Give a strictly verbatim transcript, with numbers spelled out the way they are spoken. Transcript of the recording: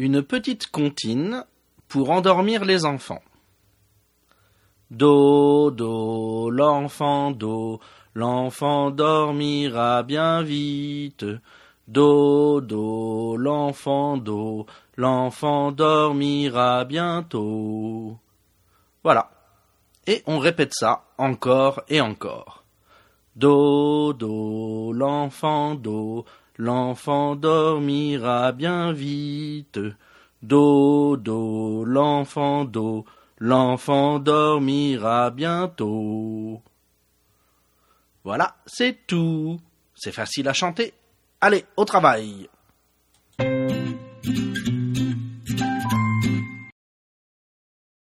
Une petite comptine pour endormir les enfants. Do, do, l'enfant, do, l'enfant dormira bien vite. Do, do, l'enfant, do, l'enfant dormira bientôt. Voilà. Et on répète ça encore et encore. Do, do, l'enfant, do, l'enfant dormira bien vite. Do, do, l'enfant, do, l'enfant dormira bientôt. Voilà, c'est tout. C'est facile à chanter. Allez, au travail.